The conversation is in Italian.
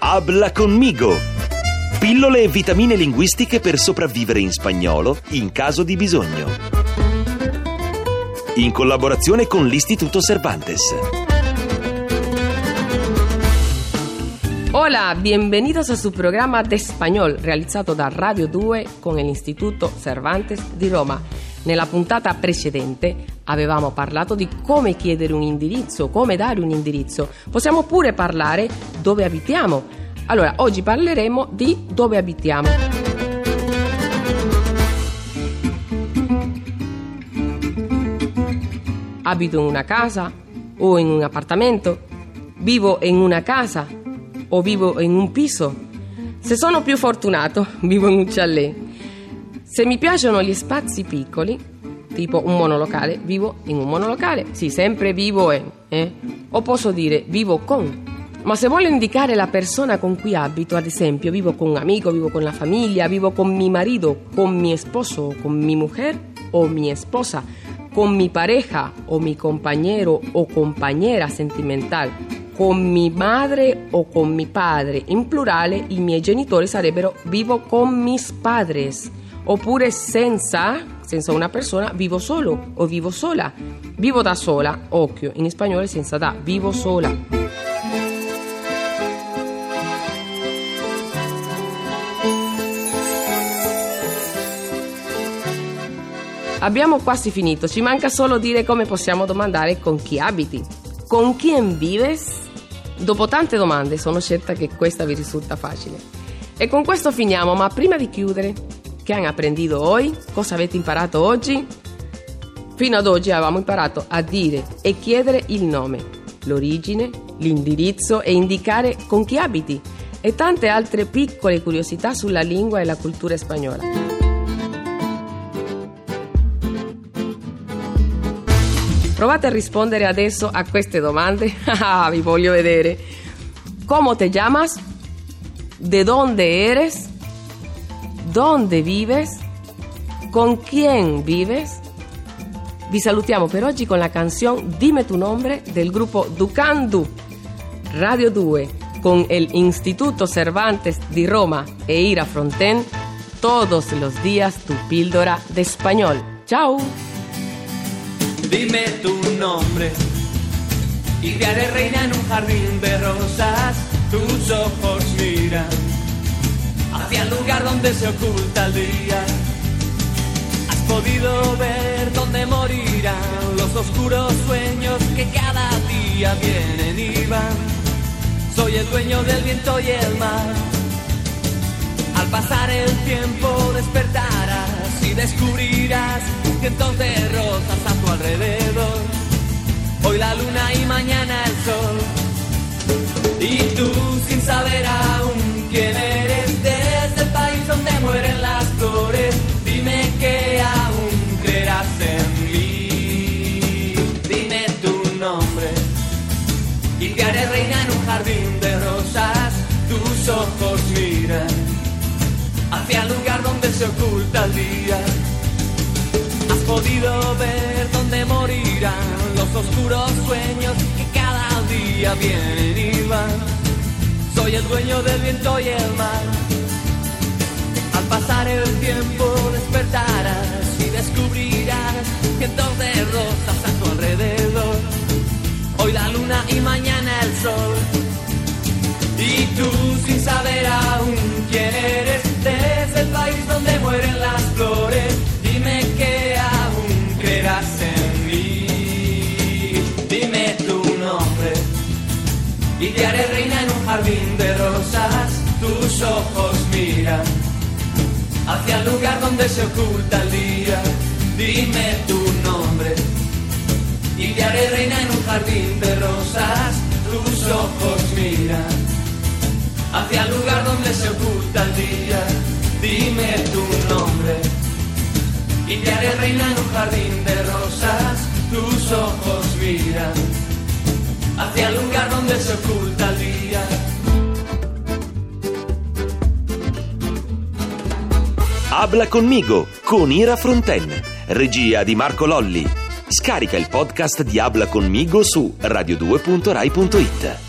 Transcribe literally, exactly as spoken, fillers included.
Habla conmigo! Pillole e vitamine linguistiche per sopravvivere in spagnolo in caso di bisogno. In collaborazione con l'Istituto Cervantes. Hola, bienvenidos a su programa de español realizzato da Radio due con l'Istituto Cervantes di Roma. Nella puntata precedente avevamo parlato di come chiedere un indirizzo, come dare un indirizzo. Possiamo pure parlare dove abitiamo. Allora, oggi parleremo di dove abitiamo. Abito in una casa o in un appartamento? Vivo in una casa o vivo in un piso? Se sono più fortunato, vivo in un chalet. Se mi piacciono gli spazi piccoli, tipo un monolocale, vivo in un monolocale. Sì, sempre vivo in, eh? O posso dire vivo con. Ma se voglio indicare la persona con cui abito, ad esempio, vivo con un amico, vivo con la famiglia, vivo con mi marito, con mi esposo, con mi mujer o mi esposa, con mi pareja o mi compañero o compañera sentimental, con mi madre o con mi padre. In plurale, i miei genitori sarebbero vivo con mis padres. Oppure senza, senza una persona, vivo solo o vivo sola. Vivo da sola, occhio, in spagnolo senza da, vivo sola. Abbiamo quasi finito, ci manca solo dire come possiamo domandare con chi abiti. Con quién vives? Dopo tante domande sono certa che questa vi risulta facile. E con questo finiamo, ma prima di chiudere, che hanno apprendito oggi? Cosa avete imparato oggi? Fino ad oggi avevamo imparato a dire e chiedere il nome, l'origine, l'indirizzo e indicare con chi abiti e tante altre piccole curiosità sulla lingua e la cultura spagnola. Provate a rispondere adesso a queste domande. Ah, vi voglio vedere. ¿Cómo te llamas? ¿De dónde eres? ¿Dónde vives? ¿Con quién vives? Vi salutiamo per oggi con la canzone Dime tu nombre del gruppo Ducandú. Radio due con el Instituto Cervantes di Roma e Ira Fronten. Todos los días tu píldora de español. Ciao. Dime tu nombre y te haré reina en un jardín de rosas. Tus ojos miran hacia el lugar donde se oculta el día. Has podido ver dónde morirán los oscuros sueños que cada día vienen y van. Soy el dueño del viento y el mar. Al pasar el tiempo despertarás y descubrirás cientos de rosas a tu alrededor. Hoy la luna y mañana el sol. Y tú sin saber aún quién eres, desde el país donde mueren las flores, dime que aún creerás en mí. Dime tu nombre y te haré reina en un jardín de rosas. Tus ojos miran hacia el lugar donde se oculta el día. Has podido ver dónde morirán los oscuros sueños que cada día vienen y van. Soy el dueño del viento y el mar. Al pasar el tiempo despertarás y descubrirás cientos de rosas a tu alrededor. Hoy la luna y mañana el sol. Y tú sin saber aún quién eres, desde el país donde mueren las flores, dime que aún creerás en mí. Dime tu nombre y te haré reina en un jardín de rosas. Tus ojos miran hacia el lugar donde se oculta el día. Dime tu nombre y te haré reina en un jardín de rosas. Tus ojos miran hacia el lugar donde se oculta el día. Dime tu nombre y te haré reina en un jardín de rosas. Tus ojos miran hacia el lugar donde se oculta el día. Habla conmigo con Ira Fronten, regia di Marco Lolli. Scarica il podcast di Habla conmigo su radio due punto rai punto it.